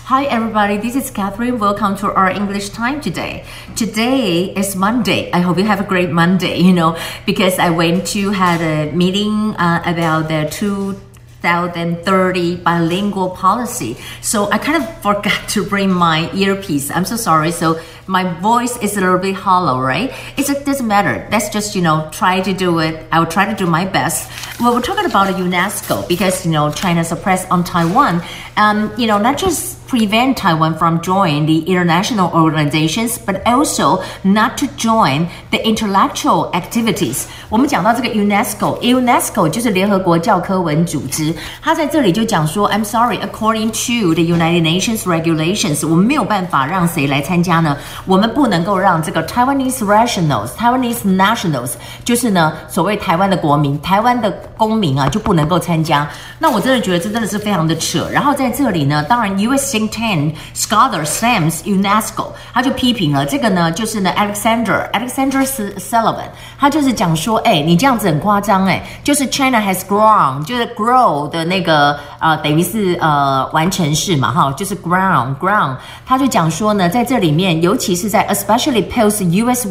Hi everybody, this is Catherine. Welcome to our English time today. Today is Monday. I hope you have a great Monday, because I went to had a meeting about the 2030 bilingual policy. So I kind of forgot to bring my earpiece. I'm so sorry. So my voice is a little bit hollow, right? It doesn't matter. Let's just, try to do it. I will try to do my best. Well, we're talking about UNESCO because, China suppressed on Taiwan. Not just prevent Taiwan from joining the international organizations, but also not to join the intellectual activities. 我们讲到这个 UNESCO 就是联合国教科文组织，它在这里就讲说 I'm sorry, according to the United Nations regulations, 我们没有办法让谁来参加呢？我们不能够让这个 Taiwanese nationals 就是呢所谓台湾的国民、台湾的公民啊就不能够参加。那我真的觉得这真的是非常的扯。然后在这里呢，当然 US think tank scholar slams UNESCO， 他就批评了这个呢，就是呢 Alexander Sullivan， 他就是讲说，你这样子很夸张，就是 China has grown， 就是 grow 的那个等于是完成式嘛，哈，就是 ground， 他就讲说呢，在这里面，尤其是在 especially post US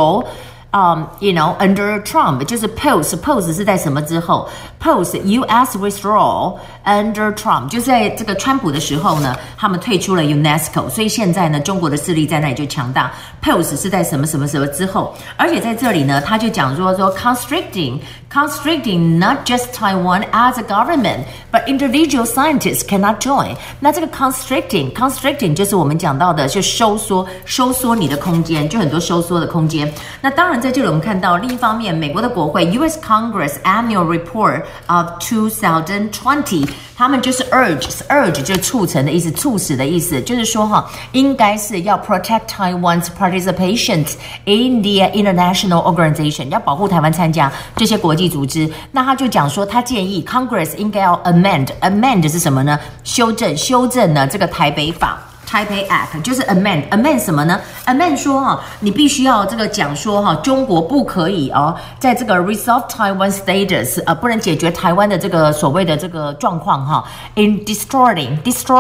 withdrawal。under Trump 就是 post 是在什么之后 post US withdrawal under Trump 就是在这个川普的时候呢，他们退出了 UNESCO， 所以现在呢，中国的势力在那里就强大。post 是在什么之后，而且在这里呢，他就讲说 constricting not just Taiwan as a government, but individual scientists cannot join。那这个 constricting 就是我们讲到的，就收缩你的空间，就很多收缩的空间。那当然。在这里我们看到另一方面，美国的国会 US Congress Annual Report of 2020， 他们就是 urge 就是促成的意思，促使的意思，就是说应该是要 protect Taiwan's participation in the international organization， 要保护台湾参加这些国际组织。那他就讲说，他建议 Congress 应该要 amend 是什么呢？修正呢这个台北法。Taipei Act 就是 amend 什么呢 ？amend 说你必须要这个讲说中国不可以在这个 resolve Taiwan status 不能解决台湾的这个所谓的这个状况in distorting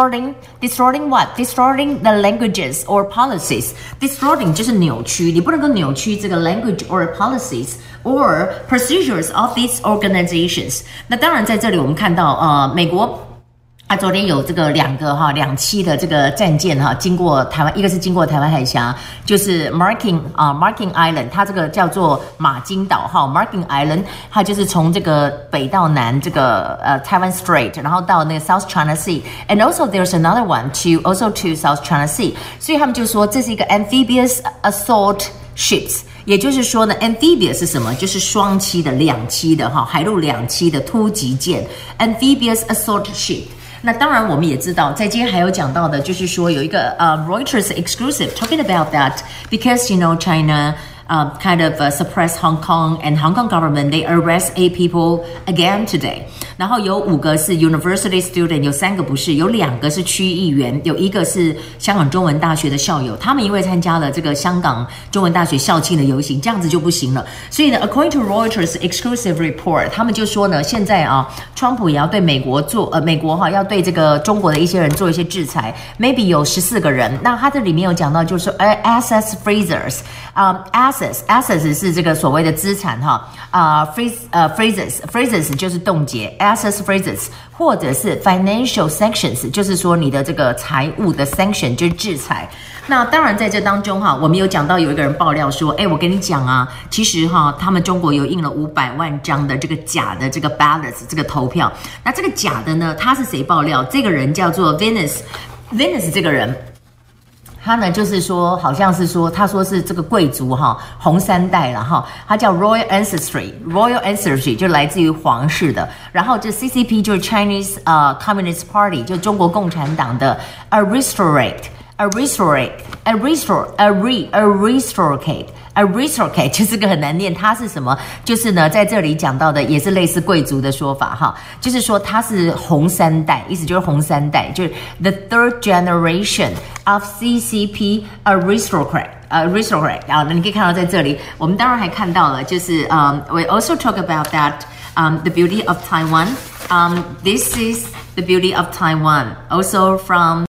what? Distorting the languages or policies. Distorting 就是扭曲，你不能够扭曲这个 language or policies or procedures of these organizations。那当然在这里我们看到美国。昨天有这个两栖的这个战舰经过台湾，一个是经过台湾海峡，就是 Marking Island， 它这个叫做马金岛Marking Island， 它就是从这个北到南这个Taiwan Strait， 然后到那个 South China Sea，and also there's another one to South China Sea， 所以他们就说这是一个 amphibious assault ships。也就是说呢 amphibious 是什么？就是双栖的、两栖的海陆两栖的突击舰 amphibious assault ship。那当然我们也知道，在今天还有讲到的就是说有一个Reuters exclusive talking about that because China kind of suppress Hong Kong, and Hong Kong government, they arrest 8 people again today. 然后有5个是 university student， 有3个不是，有2个是区议员，有1个是香港中文大学的校友。他们因为参加了这个香港中文大学校庆的游行，这样子就不行了。所以呢 ，according to Reuters exclusive report， 他们就说呢，现在川普也要对美国要对这个中国的一些人做一些制裁 ，maybe 有14个人。那他这里面有讲到，就是说assets freezers。assets 是这个所谓的资产freezes 就是冻结 assets freezes， 或者是 financial sanctions， 就是说你的这个财务的 sanction 就是制裁。那当然在这当中我们有讲到有一个人爆料说，我跟你讲其实他们中国有印了500万张的这个假的这个 ballots 这个投票。那这个假的呢，他是谁爆料？这个人叫做 Venus 这个人。他呢，就是说，好像是说，他说是这个贵族红3代了他叫 Royal Ancestry 就来自于皇室的。然后这 CCP 就是 Chinese Communist Party 就中国共产党的 aristocrat 就是个很难念，它是什么？就是呢，在这里讲到的也是类似贵族的说法就是说他是红3代，意思就是红3代，就是 the third generation of CCP aristocrat。你可以看到在这里，我们当然还看到了，就是we also talk about that the beauty of Taiwan. This is the beauty of Taiwan, also from